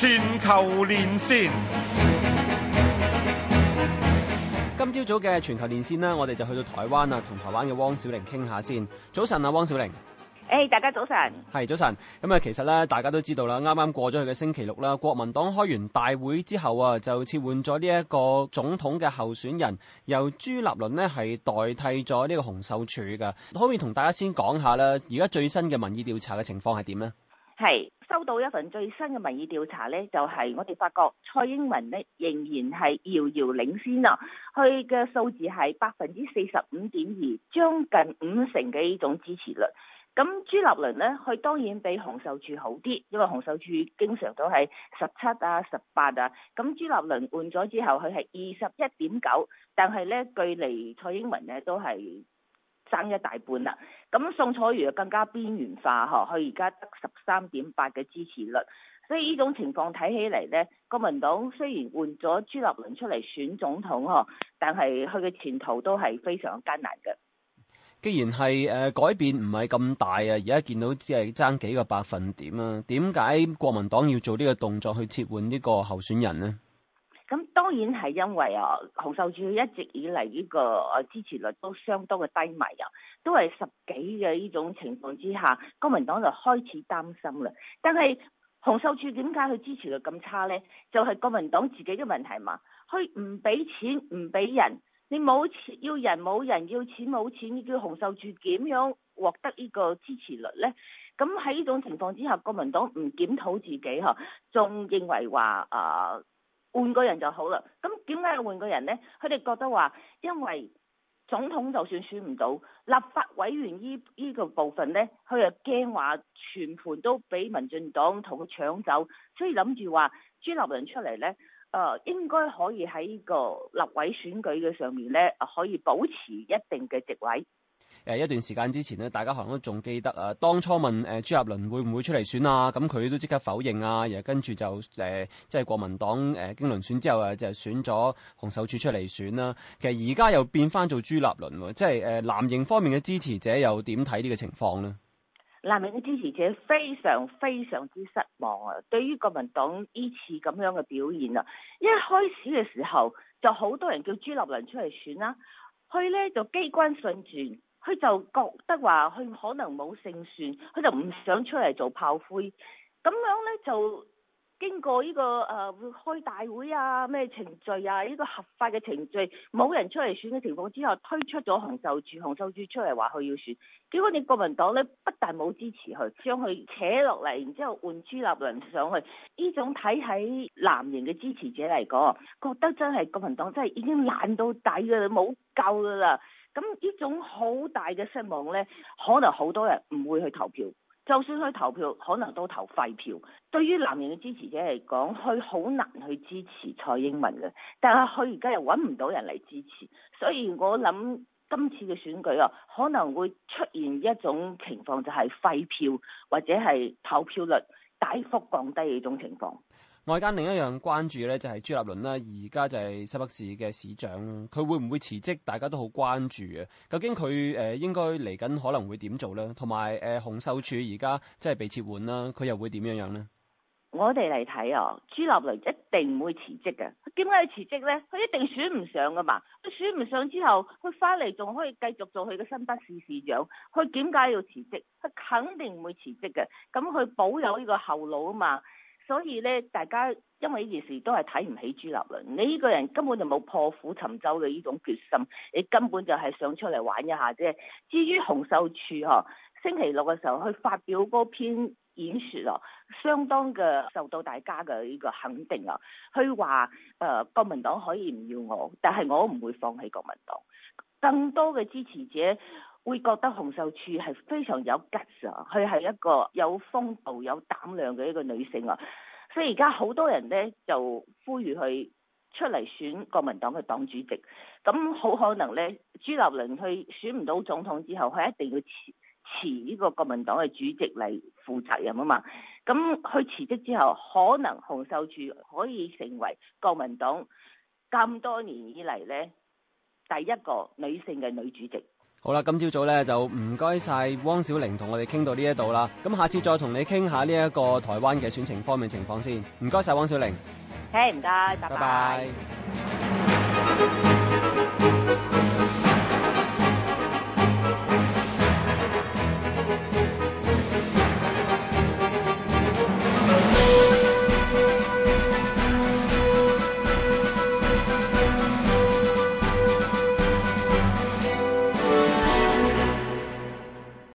全球連線。 今朝早嘅全球連線啦，我哋就去到台灣啊，同台灣嘅汪小玲傾下先。早晨啊，汪小玲。 大家早晨。 係早晨。咁啊，其實咧，大家都知道啦，啱啱過咗去嘅星期六啦，國民黨開完大會之後啊，就撤換咗呢一個總統嘅候選人，由朱立倫呢係代替咗呢個洪秀柱㗎。可唔可以同大家先講下啦？而家最新嘅民意調查嘅情況係點呢？ 係收到一份最新嘅民意調查呢，就係我哋發覺蔡英文呢仍然係遙遙領先啊！佢嘅數字係45.2%，將近50%嘅呢種支持率。咁朱立倫呢，佢當然比洪秀柱好啲，因為洪秀柱經常都係17啊、18啊。咁朱立倫換咗之後，佢係21.9%，但係呢，距離蔡英文呢都係爭一大半啦。咁宋楚瑜更加邊緣化嗬，佢而家得13.8%嘅支持率。所以呢種情況睇起嚟呢，國民黨雖然換咗朱立倫出嚟選總統嗬，但係佢嘅前途都係非常艱難嘅。 既然係改變唔係咁大啊，而家見到只係爭幾個百分點啊，點解國民黨要做呢個動作去撤換呢個候選人呢？ 咁當然係因為洪秀柱一直以嚟呢個支持率都相當嘅低迷啊，都係10幾嘅呢種情況之下，國民黨就開始擔心啦。但係洪秀柱點解佢支持率咁差呢？就係國民黨自己嘅問題嘛，佢唔俾錢唔俾人。你冇錢要人冇人，要錢冇錢，你叫洪秀柱點樣獲得呢個支持率呢？咁喺呢種情況之下，國民黨唔檢討自己嗬，仲認為話換個人就好啦。咁點解要換個人呢？佢哋覺得話，因為總統就算選唔到，立法委員呢個部分呢，佢又驚話全盤都俾民進黨同佢搶走，所以諗住話朱立倫出嚟呢。應該可以喺呢個立委選舉嘅上面咧，可以保持一定嘅席位。 一段時間之前咧，大家可能都仲記得啊，當初問朱立倫會唔會出嚟選啊，咁佢都即刻否認啊，然後跟住就即係國民黨經輪選之後啊，就選咗洪秀柱出嚟選啦。其實而家又變翻做朱立倫，即係藍營方面嘅支持者又點睇呢個情況呢？ 藍營嘅支持者非常非常之失望啊！對於國民黨呢次咁樣嘅表現啊，一開始嘅時候就好多人叫朱立倫出嚟選啦，佢呢就機關算盡，佢就覺得話佢可能冇勝算，佢就唔想出嚟做炮灰，咁樣呢，就經過呢個開大會啊咩程序啊，呢個合法嘅程序，冇人出嚟選嘅情況之下，推出咗洪秀柱出嚟話佢要選，結果你國民黨呢，不但冇支持佢，將佢扯落嚟，然之後換朱立倫上去，呢種睇喺藍營嘅支持者嚟講，覺得真係國民黨真係已經爛到底㗎啦，冇救㗎啦。咁呢種好大嘅失望呢，可能好多人唔會去投票。就算去投票，可能都投廢票。對於藍營嘅支持者嚟講，佢好難去支持蔡英文嘅，但係佢而家又揾唔到人嚟支持，所以我諗今次嘅選舉可能會出現一種情況，就係廢票或者係投票率大幅降低嘅呢種情況。 外間另一樣關注嘅咧就係朱立倫啦，而家就係新北市嘅市長，佢會唔會辭職？大家都好關注啊！究竟佢應該嚟緊可能會點做咧？同埋洪秀柱而家即係被撤換啦，佢又會點樣呢？ 我哋嚟睇朱立倫一定唔會辭職嘅。點解要辭職呢？佢一定選唔上噶嘛。佢選唔上之後，佢翻嚟仲可以繼續做佢嘅新北市市長。佢點解要辭職？佢肯定唔會辭職嘅。咁佢保有呢個後路啊嘛。所以咧，大家因為呢件事都係睇唔起朱立倫。你呢個人根本就冇破釜沉舟嘅呢種決心，你根本就係想出嚟玩一下啫。至於洪秀柱星期六嘅時候去發表嗰篇演說相當嘅受到大家嘅呢個肯定啊。佢話國民黨可以唔要我，但係我唔會放棄國民黨。更多嘅支持者會覺得洪秀柱係非常有 guts 啊，佢係一個有風度、有膽量嘅一個女性啊，所以而家好多人呢就呼籲佢出嚟選國民黨嘅黨主席。咁好可能呢，朱立倫去選唔到總統之後，佢一定要辭呢個國民黨嘅主席嚟負責任啊嘛。咁佢辭職之後，可能洪秀柱可以成為國民黨咁多年以嚟呢第一個女性嘅女主席。 好啦，今朝早咧就唔該晒汪小玲同我哋傾到呢一度啦。咁下次再同你傾下呢一個台灣嘅選情方面情況先。唔該晒汪小玲。 唔該，拜拜。 拜拜。